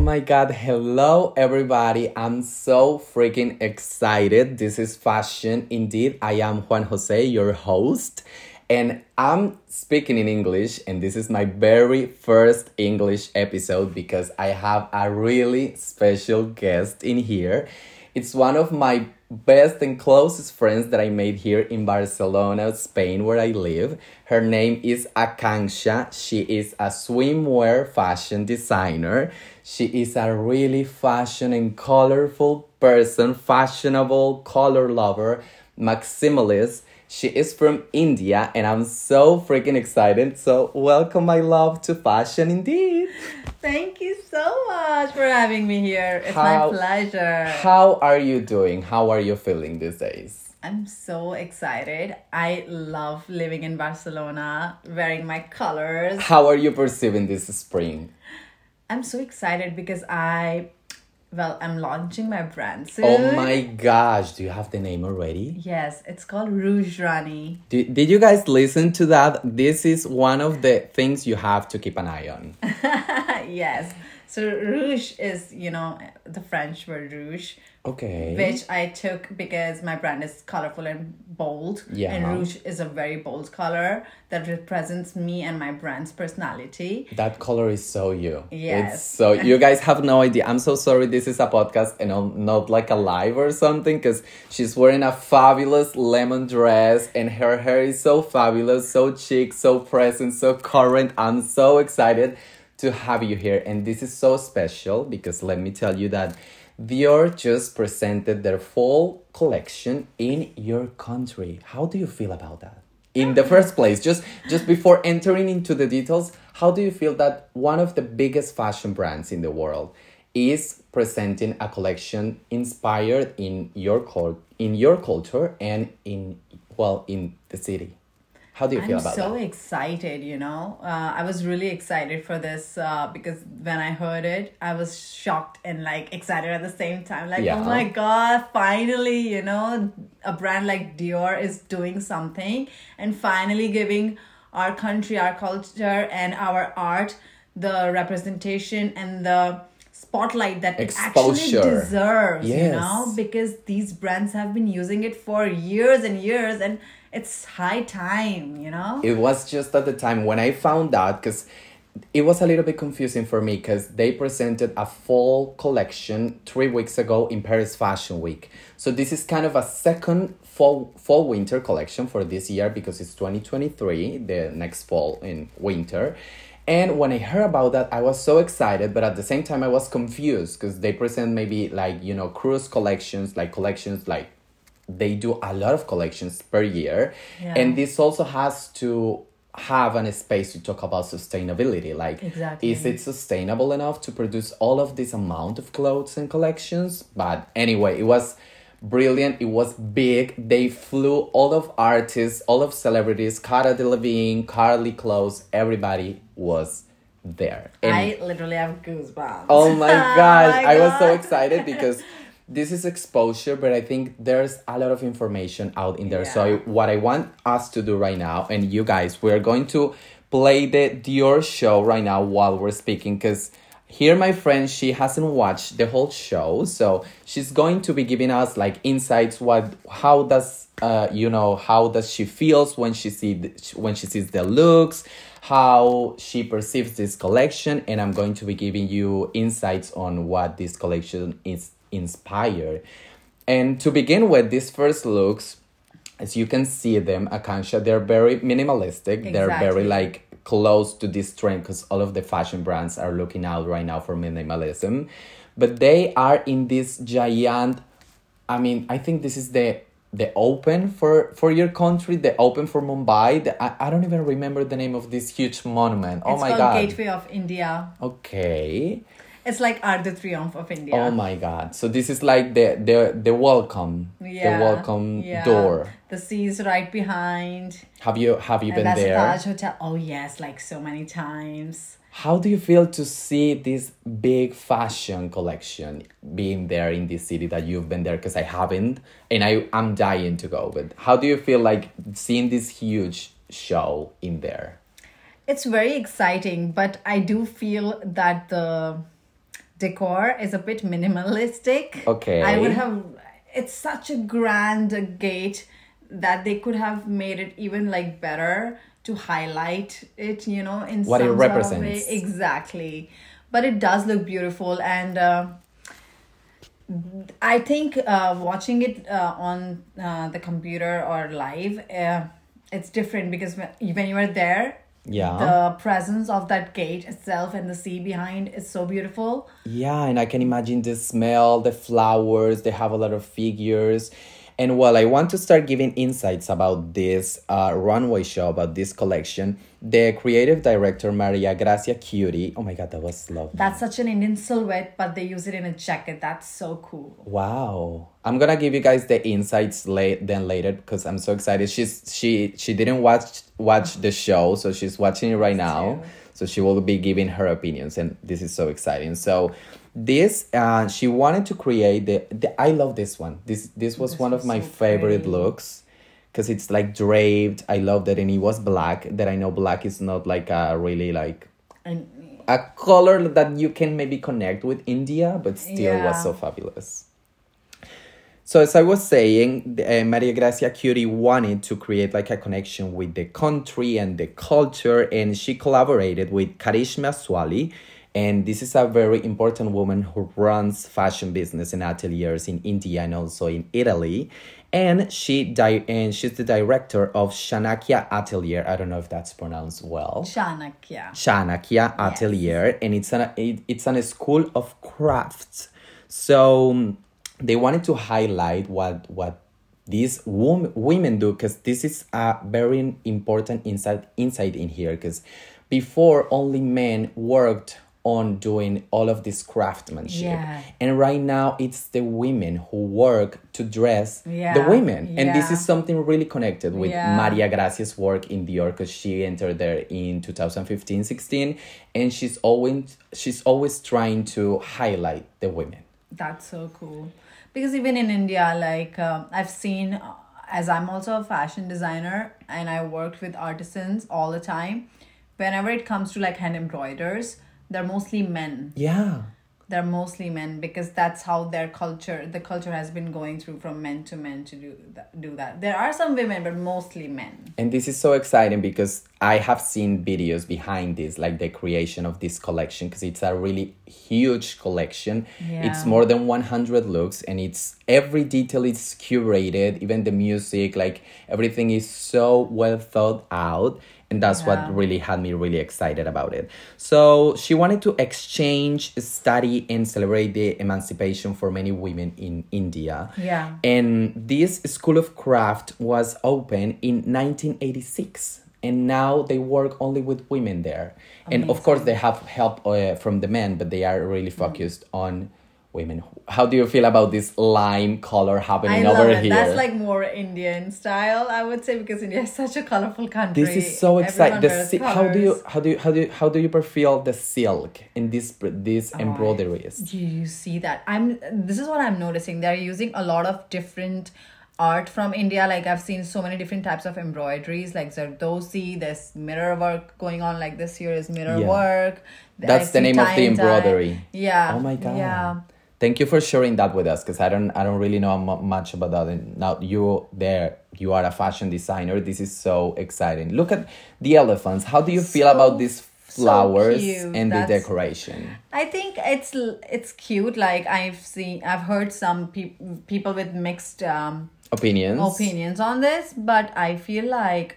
my god, hello everybody. I'm so freaking excited. This is Fashion Indeed. I am Juan Jose, your host, and I'm speaking in English, and this is my very first English episode because I have a really special guest in here. It's one of my best and closest friends that I made here in Barcelona, Spain, where I live. Her name is Akanksha. She is a swimwear fashion designer. She is a really fashion and colorful person, fashionable, color lover, maximalist. She is from India, and I'm so freaking excited. So welcome, my love, to Fashion Indeed. Thank you so much for having me here. It's my pleasure. How are you doing? How are you feeling these days? I'm so excited. I love living in Barcelona, wearing my colors. How are you perceiving this spring? I'm so excited because I'm launching my brand soon. Oh my gosh, do you have the name already? Yes, it's called Rouge Rani. Did you guys listen to that? This is one of the things you have to keep an eye on. Yes. So rouge is, the French word rouge. Okay. Which I took because my brand is colorful and bold. Yeah. And rouge is a very bold color that represents me and my brand's personality. That color is so you. Yes. It's so, you guys have no idea. I'm so sorry this is a podcast and not like a live or something, because she's wearing a fabulous lemon dress and her hair is so fabulous, so chic, so present, so current. I'm so excited to have you here. And this is so special because let me tell you that Dior just presented their fall collection in your country. How do you feel about that? In the first place, just before entering into the details, how do you feel that one of the biggest fashion brands in the world is presenting a collection inspired in your culture and in the city? How do you feel about that? I'm so excited, I was really excited for this because when I heard it, I was shocked and excited at the same time. Oh my God, finally, a brand like Dior is doing something and finally giving our country, our culture and our art the representation and the spotlight that exposure it actually deserves, yes. Because these brands have been using it for years and years and it's high time, It was just at the time when I found out, because it was a little bit confusing for me because they presented a fall collection 3 weeks ago in Paris Fashion Week. So this is kind of a second fall winter collection for this year because it's 2023, the next fall and winter. And when I heard about that, I was so excited, but at the same time I was confused because they present maybe cruise collections, they do a lot of collections per year. Yeah. And this also has to have a space to talk about sustainability. Exactly. Is it sustainable enough to produce all of this amount of clothes and collections? But anyway, it was brilliant. It was big. They flew all of artists, all of celebrities, Cara Delevingne, Carly Close, everybody was there. And I literally have goosebumps. oh my gosh, my I was so God. excited because this is exposure, but I think there's a lot of information out in there. Yeah. So what I want us to do right now, and you guys, we're going to play the Dior show right now while we're speaking, because here my friend, she hasn't watched the whole show, so she's going to be giving us insights. How does she feels when she sees the looks, how she perceives this collection, and I'm going to be giving you insights on what this collection is inspired. And to begin with, these first looks, as you can see them, Akanksha, they're very minimalistic. Exactly. They're very close to this trend because all of the fashion brands are looking out right now for minimalism. But they are in this giant, I think this is the open for your country, the open for Mumbai. I don't even remember the name of this huge monument. Oh my God. It's called Gateway of India. Okay. It's like Arc de Triomphe of India. Oh my God. So this is the welcome. Yeah. The welcome door. The sea is right behind. Have you been that's there? That's the Taj Hotel. Oh yes, so many times. How do you feel to see this big fashion collection being there in this city that you've been there? Because I haven't, and I'm dying to go. But how do you feel seeing this huge show in there? It's very exciting, but I do feel that decor is a bit minimalistic. Okay. I would have, it's such a grand gate that they could have made it even like better to highlight it, you know, in what some it sort of represents. way. Exactly. But it does look beautiful, and I think watching it on the computer or live, it's different because when you are there, Yeah. the presence of that gate itself and the sea behind is so beautiful. Yeah, and I can imagine the smell, the flowers, they have a lot of figures. And well, I want to start giving insights about this runway show, about this collection. The creative director, Maria Gracia Curie. Oh my God, that was lovely. That's such an Indian silhouette, but they use it in a jacket. That's so cool. Wow. I'm gonna give you guys the insights later because I'm so excited. She didn't watch the show, so she's watching it right now. So she will be giving her opinions, and this is so exciting. So this she wanted to create the I love this one. This was one of my so favorite pretty. looks because it's like draped. I love that, and it was black. That I know black is not like a really like And a color that you can maybe connect with India, but still was Yeah. so fabulous. So as I was saying, Maria Gracia Curie wanted to create like a connection with the country and the culture, and she collaborated with Karishma Swali. And this is a very important woman who runs fashion business and ateliers in India and also in Italy. And she's the director of Chanakya Atelier. I don't know if that's pronounced well. Chanakya. Chanakya Atelier, and it's a school of crafts. So they wanted to highlight what these women do, because this is a very important insight in here, because before only men worked on doing all of this craftsmanship, Yeah. and right now it's the women who work to dress the Yeah, women, and this yeah. is something really connected with Yeah. Maria Gracia's work in Dior, because she entered there in 2015-16, and she's always trying to highlight the women. That's so cool. Because even in India, like I've seen, as I'm also a fashion designer and I worked with artisans all the time, whenever it comes to like hand embroiders, they're mostly men. Yeah. They're mostly men because that's how the culture has been going through from men to men to do that. There are some women, but mostly men. And this is so exciting because I have seen videos behind this, like the creation of this collection, because it's a really huge collection. Yeah. It's more than 100 looks, and it's every detail is curated, even the music, like everything is so well thought out. And that's Yeah. what really had me really excited about it. So she wanted to exchange, study, and celebrate the emancipation for many women in India. Yeah. And this School of Craft was open in 1986. And now they work only with women there. And of course, they have help from the men, but they are really focused on women. How do you feel about this lime color happening I love over it. here? That's like more Indian style, I would say, because India is such a colorful country. This is so exciting. Everyone wears colors. How do you feel the silk in these embroideries? Do you see that? This is what I'm noticing. They're using a lot of different art from India. Like I've seen so many different types of embroideries, like Zardosi, there's mirror work going on, like this here is mirror Yeah. work. That's I the see name of tie the and dye. embroidery. Yeah. Oh my God. Yeah. Thank you for sharing that with us, because I don't really know much about that. And now you are a fashion designer. This is so exciting. Look at the elephants. How do you feel about these flowers cute. and the That's- decoration? I think it's cute. Like I've heard some people with mixed opinions on this, but I feel like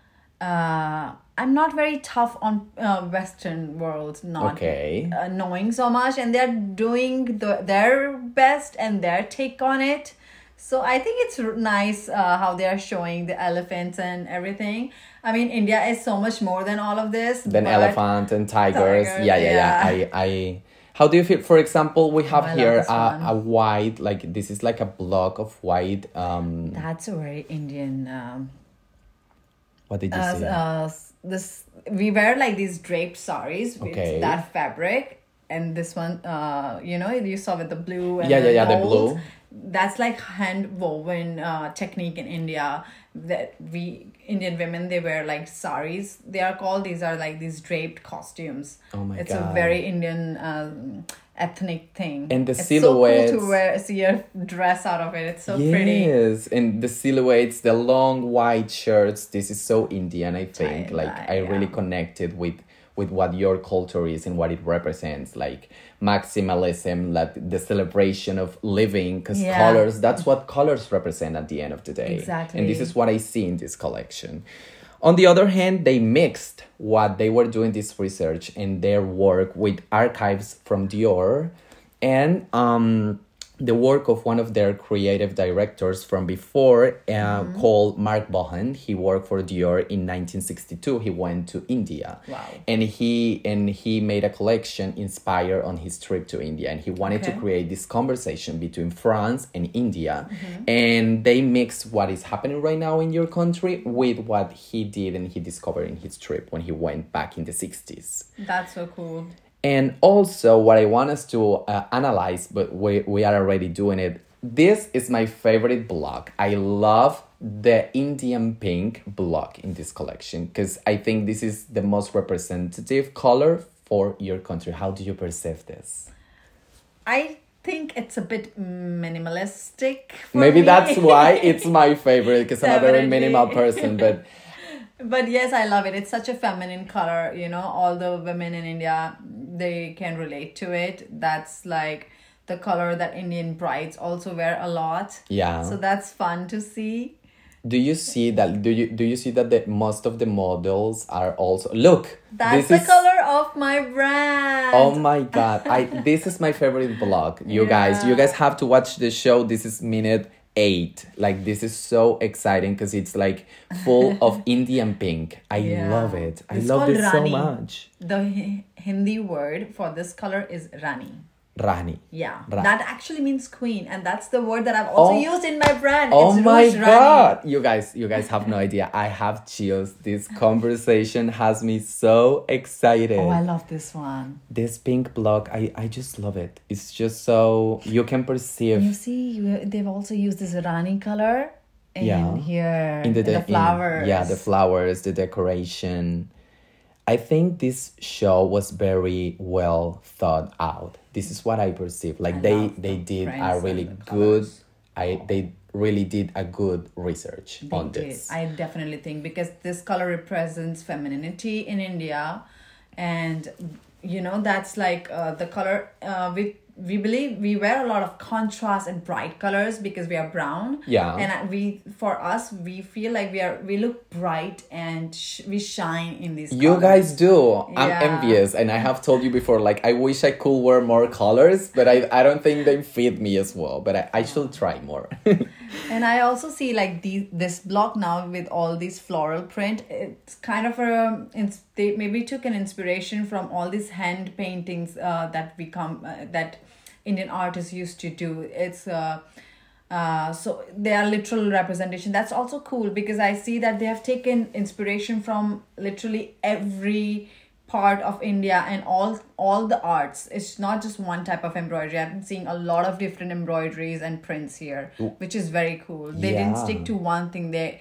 I'm not very tough on Western world, not Okay. knowing so much, and they're doing their best and their take on it. So I think it's nice how they are showing the elephants and everything. I mean, India is so much more than all of this. Then but elephant and tigers. Tigers, Yeah. yeah. I how do you feel? For example, we have I love here this one. a white, like this is like a block of white. That's a very Indian. What did you say? This we wear like these draped saris with Okay. that fabric, and this one, you saw with the blue and Yeah, the the gold. blue. That's like hand woven technique in India. That we Indian women, they wear like saris. They are called. These are like these draped costumes. Oh my it's God. a very Indian ethnic thing. And the it's silhouettes. so cool to see a dress out of it. It's so yes, pretty. Yes, and the silhouettes, the long white shirts. This is so Indian, I think. I really connected with what your culture is and what it represents, like maximalism, like the celebration of living, because colors, that's what colors represent at the end of the day. Exactly. And this is what I see in this collection. On the other hand, they mixed what they were doing this research and their work with archives from Dior and the work of one of their creative directors from before called Mark Bohan. He worked for Dior in 1962. He went to India. Wow. And he made a collection inspired on his trip to India. And he wanted to create this conversation between France and India. And they mix what is happening right now in your country with what he did and he discovered in his trip when he went back in the 60s. That's so cool. And also what I want us to analyze, but we are already doing it. This is my favorite block. I love the Indian pink block in this collection because I think this is the most representative color for your country. How do you perceive this? I think it's a bit minimalistic. Maybe that's why it's my favorite because I'm a very minimal person, but... But yes, I love it. It's such a feminine color, you know, all the women in India, they can relate to it. That's like the color that Indian brides also wear a lot. Yeah. So that's fun to see. Do you see that? Do you see that most of the models are also look? That's the color of my brand. Oh my god! This is my favorite vlog. You guys have to watch the show. This is minute 8. Like this is so exciting because it's like full of Indian pink. I love it. I love this so much. The Hindi word for this color is Rani. Rani. Yeah. That actually means queen, and that's the word that I've also used in my brand. Oh my god. You guys have no idea. I have chills. This conversation has me so excited. Oh, I love this one. This pink block, I just love it. It's just so you can perceive. You see, they've also used this Rani color here in the flowers. The flowers, the decoration. I think this show was very well thought out. This is what I perceive. Like they did a really good. They really did a good research on this. I definitely think because this color represents femininity in India, and you know that's like the color we believe we wear a lot of contrast and bright colors because we are brown. Yeah. And we feel like we look bright and we shine in these colors. You guys do. I'm envious. And I have told you before, like, I wish I could wear more colors, but I don't think they fit me as well. But I should try more. And I also see like this block now with all these floral print. It's kind of they maybe took an inspiration from all these hand paintings that Indian artists used to do. It's so they are literal representation. That's also cool because I see that they have taken inspiration from literally every part of India and all the arts. It's not just one type of embroidery. I've been seeing a lot of different embroideries and prints here, which is very cool. They didn't stick to one thing. They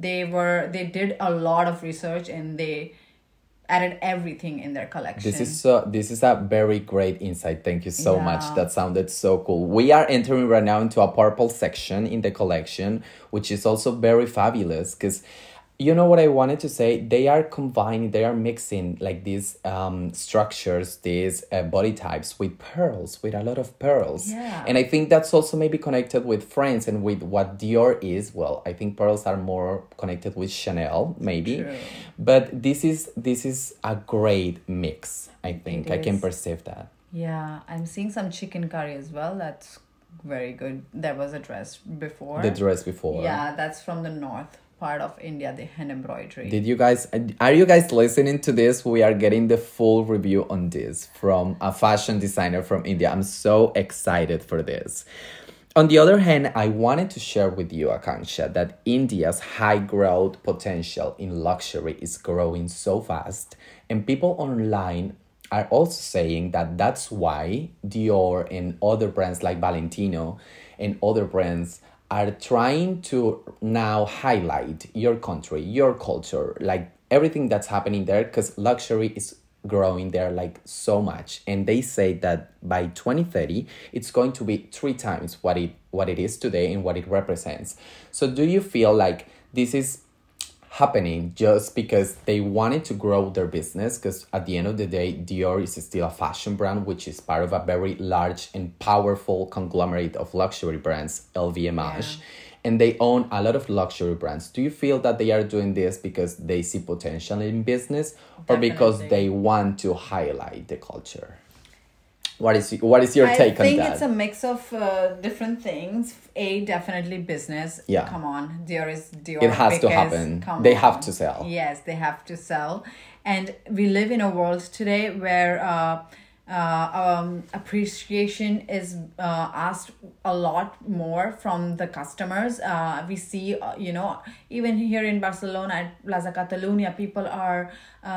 did a lot of research and they added everything in their collection. This is a very great insight. Thank you so much. That sounded so cool. We are entering right now into a purple section in the collection, which is also very fabulous because you know what I wanted to say? They are combining, they are mixing like these structures, these body types with pearls, with a lot of pearls. Yeah. And I think that's also maybe connected with France and with what Dior is. Well, I think pearls are more connected with Chanel, maybe. True. But this is a great mix, I think. I can perceive that. Yeah, I'm seeing some chicken curry as well. That's very good. There was a dress before. The dress before. Yeah, that's from the north part of India, the hand embroidery. Are you guys listening to this? We are getting the full review on this from a fashion designer from India. I'm so excited for this. On the other hand, I wanted to share with you, Akanksha, that India's high growth potential in luxury is growing so fast, and people online are also saying that that's why Dior and other brands like Valentino and other brands are trying to now highlight your country, your culture, like everything that's happening there, because luxury is growing there like so much, and they say that by 2030 it's going to be 3 times what it is today and what it represents. So do you feel like this is happening just because they wanted to grow their business? Because at the end of the day, Dior is still a fashion brand, which is part of a very large and powerful conglomerate of luxury brands, LVMH. And they own a lot of luxury brands. Do you feel that they are doing this because they see potential in business, or because they want to highlight the culture? What is your take on that? I think it's a mix of different things. Definitely business. Yeah. Come on. Dior. It has to happen. They have to sell. Yes, they have to sell. And we live in a world today where appreciation is asked a lot more from the customers. We see, even here in Barcelona at Plaza Catalunya, people are...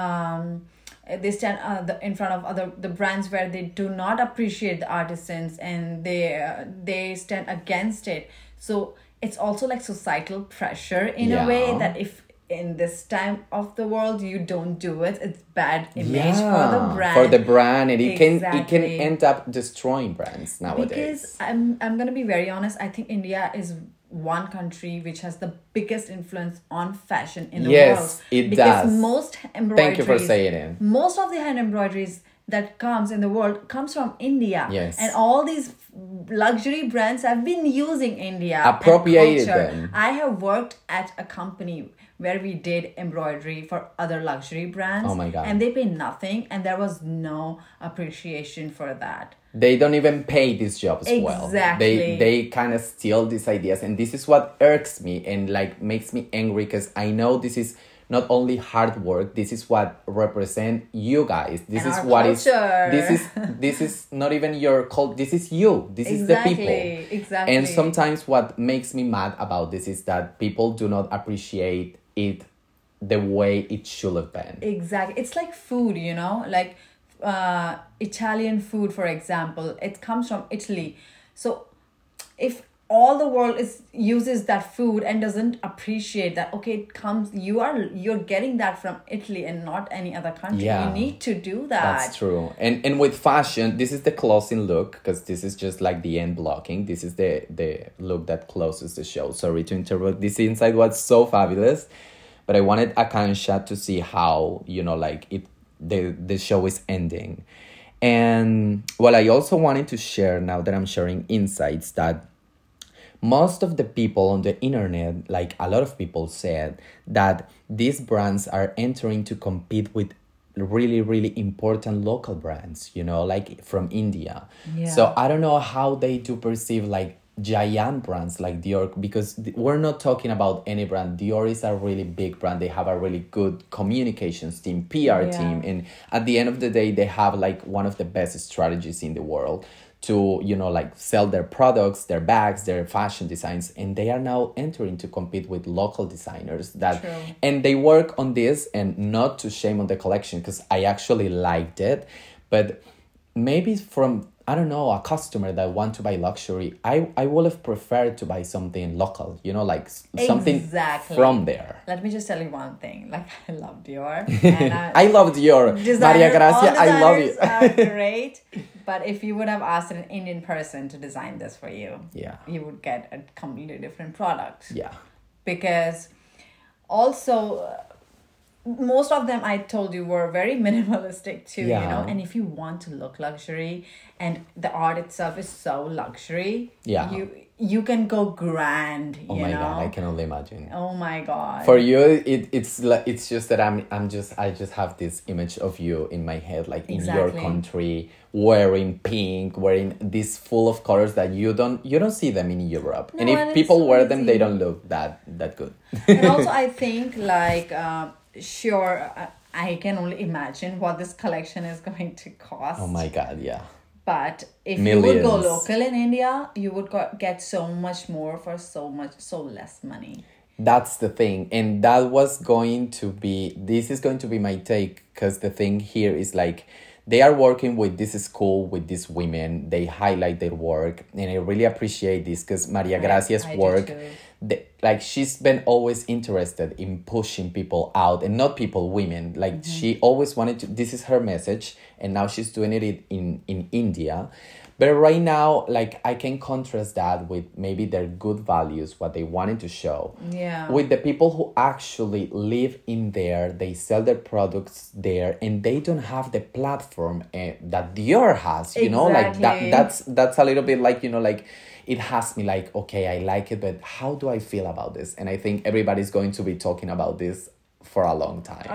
they stand in front of the brands where they do not appreciate the artisans, and they stand against it. So it's also like societal pressure in a way, that if in this time of the world you don't do it, it's bad image for the brand, and it can end up destroying brands nowadays. Because I'm gonna be very honest, I think India is one country which has the biggest influence on fashion in the world. Yes, it does. Because most embroideries... Thank you for saying it. Most of the hand embroideries that comes in the world comes from India. Yes. And all these luxury brands have been using India. Appropriated them. I have worked at a company where we did embroidery for other luxury brands. Oh my God. And they pay nothing, and there was no appreciation for that. They don't even pay these jobs well. Exactly. They kind of steal these ideas, and this is what irks me and like makes me angry, because I know this is not only hard work. This is what represent you guys. This and is our what culture. This is not even your cult. This is you. This is the people. Exactly. And sometimes what makes me mad about this is that people do not appreciate it the way it should have been. Exactly. It's like food, like Italian food, for example. It comes from Italy. So if all the world uses that food and doesn't appreciate that, you're getting that from Italy and not any other country. You need to do that. That's true. And with fashion, this is the closing look, because this is just like the end blocking. This is the look that closes the show. Sorry to interrupt. This inside was so fabulous, but I wanted Akansha to see how the show is ending. And I also wanted to share, now that I'm sharing insights, that most of the people on the internet, like a lot of people said that these brands are entering to compete with really, really important local brands, like from India. Yeah. So I don't know how they do perceive like giant brands like Dior, because we're not talking about any brand. Dior is a really big brand. They have a really good communications team, PR team. And at the end of the day, they have like one of the best strategies in the world to, sell their products, their bags, their fashion designs. And they are now entering to compete with local designers and they work on this, and not to shame on the collection, because I actually liked it. But maybe from, I don't know, a customer that want to buy luxury, I would have preferred to buy something local, something from there. Let me just tell you one thing. Like, I love Dior. And I love Dior. Maria Gracia, I love it. Are great. But if you would have asked an Indian person to design this for you, you would get a completely different product. Yeah. Because also... most of them, I told you, were very minimalistic too, and if you want to look luxury and the art itself is so luxury, you can go grand. Oh my God, I can only imagine. Oh my God. For you, it's just that I just have this image of you in my head, like in your country, wearing pink, wearing this full of colors that you don't see them in Europe. No, and if people wear them, they don't look that good. And also, I think like sure, I can only imagine what this collection is going to cost. Oh my God, yeah. But if you would go local in India, you would get so much more for so less money. That's the thing. And this is going to be my take, because the thing here is like, they are working with this school, with these women. They highlight their work. And I really appreciate this, because Maria Gracia's work, like she's been always interested in pushing people out, and not people, women. Like she always wanted to, this is her message, and now she's doing it in India. But right now, like, I can contrast that with maybe their good values, what they wanted to show. Yeah. With the people who actually live in there, they sell their products there, and they don't have the platform that Dior has. You know, like that's a little bit like, you know, like, it has me like, okay, I like it, but how do I feel about this? And I think everybody's going to be talking about this for a long time.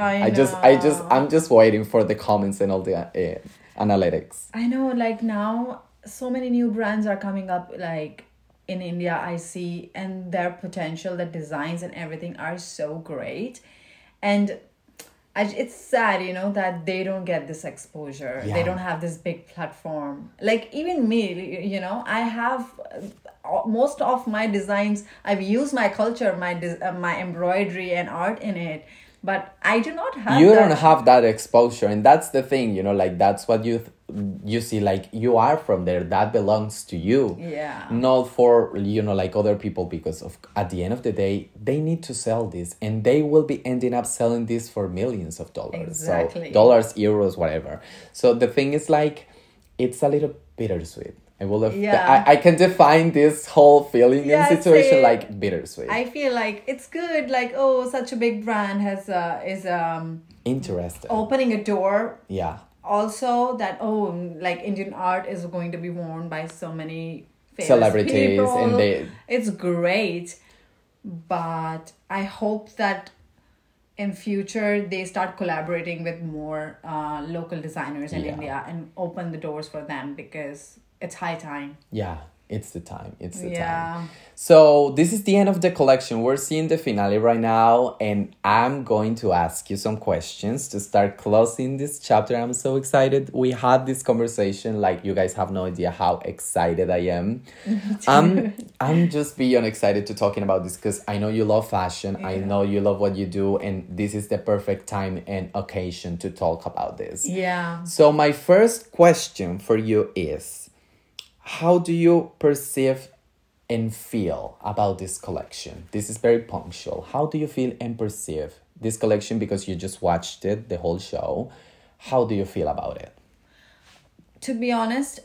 I'm just waiting for the comments and all the analytics. I know, like now so many new brands are coming up, like in India I see, and their potential, the designs and everything are so great. And it's sad, you know, that they don't get this exposure. Yeah. They don't have this big platform. Like even me, you know, I have most of my designs, I've used my culture, my embroidery and art in it, but I do not have don't have that exposure. And that's the thing, you know, like, that's what you see, like, you are from there, that belongs to you. Yeah. Not for, you know, like other people, because of, at the end of the day, they need to sell this, and they will be ending up selling this for millions of dollars. Exactly. So dollars, euros, whatever. So the thing is, like, it's a little bittersweet. I can define this whole feeling and situation like bittersweet. I feel like it's good, like, oh, such a big brand is interested, opening a door. Yeah. Also that, like Indian art is going to be worn by so many famous celebrities people. And it's great, but I hope that in future they start collaborating with more local designers in India and open the doors for them, because it's high time. Yeah, it's the time. It's the time. So this is the end of the collection. We're seeing the finale right now, and I'm going to ask you some questions to start closing this chapter. I'm so excited. We had this conversation. Like, you guys have no idea how excited I am. I'm just beyond excited to talking about this, because I know you love fashion. Yeah. I know you love what you do, and this is the perfect time and occasion to talk about this. Yeah. So my first question for you is, how do you perceive and feel about this collection? This is very punctual. How do you feel and perceive this collection? Because you just watched it, the whole show. How do you feel about it? To be honest,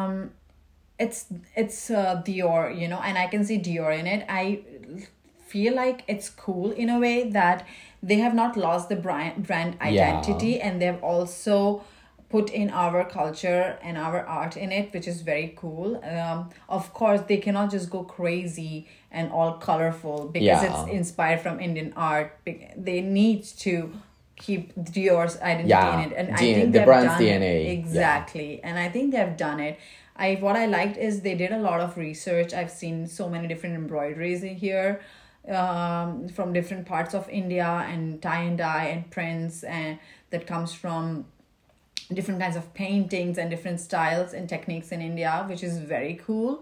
it's Dior, you know, and I can see Dior in it. I feel like it's cool in a way that they have not lost the brand identity, and they've also put in our culture and our art in it, which is very cool. Of course, they cannot just go crazy and all colorful, because it's inspired from Indian art. They need to keep Dior's identity in it, and I think the brand's done DNA. Exactly, and I think they've done it. What I liked is they did a lot of research. I've seen so many different embroideries in here, from different parts of India, and tie and dye and prints, and that comes from different kinds of paintings and different styles and techniques in India, which is very cool.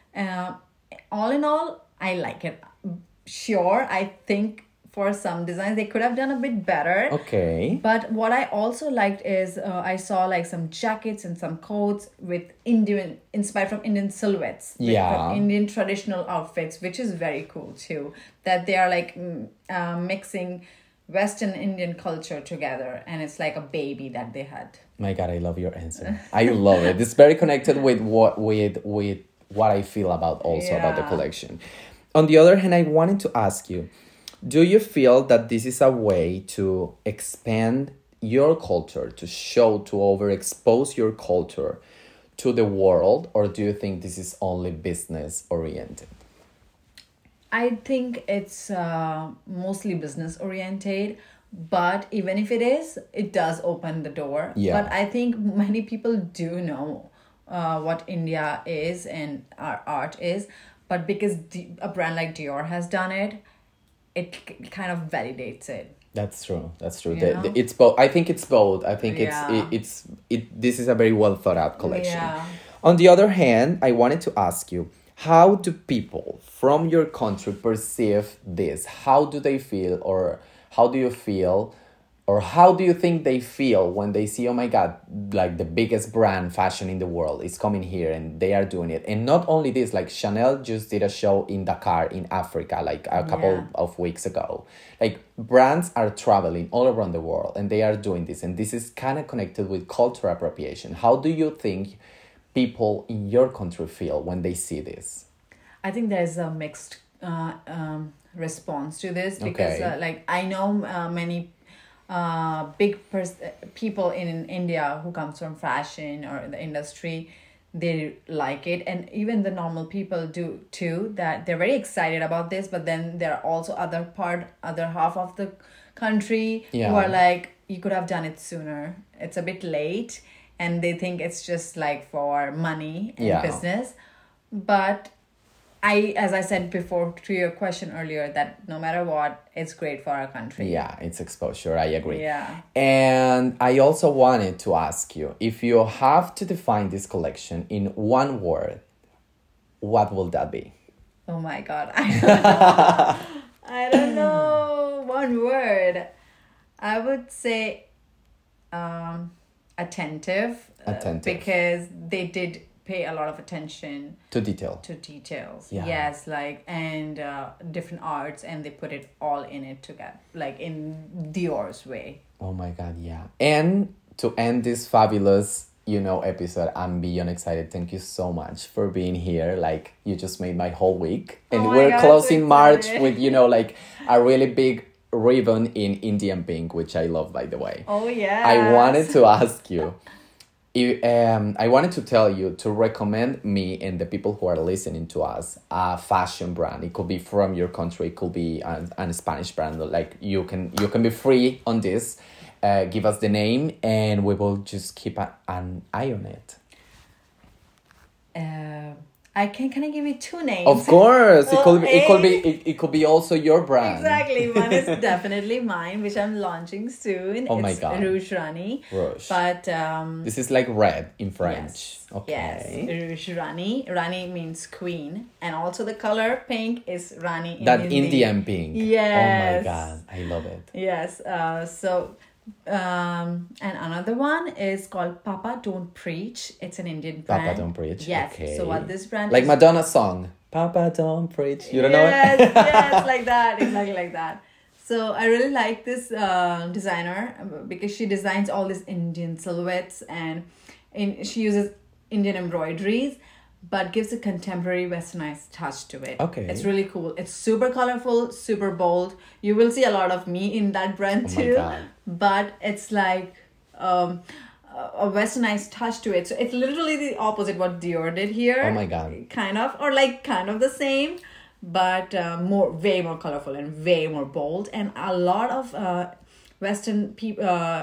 All in all, I like it. Sure, I think for some designs they could have done a bit better. Okay. But what I also liked is I saw like some jackets and some coats with inspired from Indian silhouettes. From Indian traditional outfits, which is very cool too. That they are like mixing Western Indian culture together, and it's like a baby that they had. My God, I love your answer. I love it. It's very connected with what I feel about the collection. On the other hand, I wanted to ask you, do you feel that this is a way to expand your culture, to overexpose your culture to the world, or do you think this is only business oriented? I think it's mostly business oriented, but even if it is, it does open the door. Yeah. But I think many people do know what India is and our art is, but because a brand like Dior has done it, it kind of validates it. That's true. It's both. I think it's both. I think this is a very well thought out collection. Yeah. On the other hand, I wanted to ask you, how do people from your country perceive this? How do they feel, or how do you feel or how do you think they feel when they see, oh my God, like the biggest brand fashion in the world is coming here and they are doing it? And not only this, like Chanel just did a show in Dakar in Africa like a couple of weeks ago. Like brands are traveling all around the world and they are doing this, and this is kind of connected with cultural appropriation. How do you think people in your country feel when they see this? I think there's a mixed response to this, because like I know many people in India who comes from fashion or the industry. They like it, and even the normal people do too, that they're very excited about this. But then there are also other half of the country who are like, you could have done it sooner, it's a bit late, and they think it's just like for money and business. But as I said before to your question earlier, that no matter what, it's great for our country. Yeah, it's exposure. I agree. Yeah. And I also wanted to ask you, if you have to define this collection in one word, what will that be? Oh my God. I don't know. I don't know. One word. I would say attentive. Attentive. Because they did pay a lot of attention to details. Yes, like, and different arts, and they put it all in it together, like in Dior's way. Oh my God, yeah. And to end this fabulous episode, I'm beyond excited. Thank you so much for being here. Like, you just made my whole week. And we're closing March with like a really big ribbon in Indian pink, which I love, by the way. Oh yeah. I wanted to ask you, I wanted to tell you to recommend me and the people who are listening to us a fashion brand. It could be from your country. It could be a Spanish brand. Like, you can be free on this. Give us the name and we will just keep an eye on it. Can I give you two names? Of course. It could be also your brand. Exactly. One is definitely mine, which I'm launching soon. Oh my God. Rouge Rani. Rouge. But this is like red in French. Yes. Okay. Yes. Rouge Rani. Rani means queen, and also the color pink is Rani in that Hindi. Indian pink. Yes. Oh my God. I love it. Yes. And another one is called Papa Don't Preach. It's an Indian brand. Papa Don't Preach. Yes. Okay. So what this brand like is, Madonna's song, Papa Don't Preach. You don't know it? Yes, like that. Exactly like that. So I really like this designer because she designs all these Indian silhouettes, and she uses Indian embroideries, but gives a contemporary westernized touch to it. Okay. It's really cool. It's super colorful, super bold. You will see a lot of me in that brand too. My God. But it's like a westernized touch to it. So it's literally the opposite what Dior did here. Oh my God. Kind of the same, but way more colorful and way more bold. And a lot of Western people,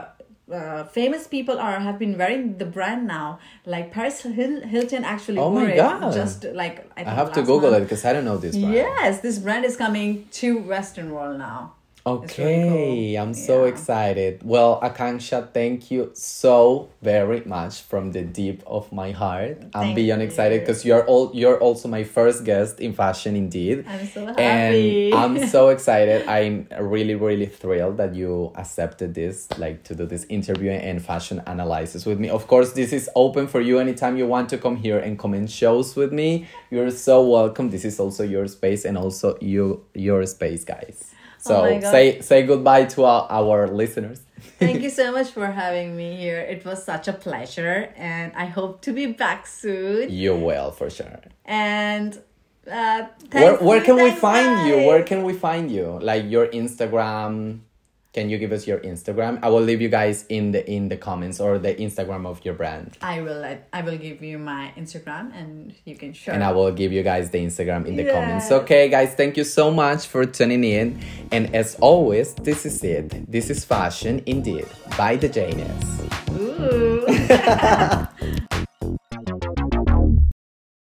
famous people have been wearing the brand now. Like Paris Hilton actually wore it. Just like I have to Google it because I don't know this brand. Yes, this brand is coming to Western world now. Okay, really cool. I'm so excited. Well, Akanksha, thank you so very much from the deep of my heart. I'm beyond excited because you're also my first guest in Fashion Indeed. I'm so happy. And I'm so excited. I'm really, really thrilled that you accepted this, like to do this interview and fashion analysis with me. Of course, this is open for you anytime you want to come here and comment shows with me. You're so welcome. This is also your space and also your space, guys. So say goodbye to our listeners. Thank you so much for having me here. It was such a pleasure, and I hope to be back soon. You will, for sure. And where can we find you? Where can we find you? Like your Instagram. Can you give us your Instagram? I will leave you guys in the comments, or the Instagram of your brand. I will give you my Instagram and you can share. And I will give you guys the Instagram in the comments. Okay, guys, thank you so much for tuning in. And as always, this is it. This is Fashion Indeed by the Janus. Ooh.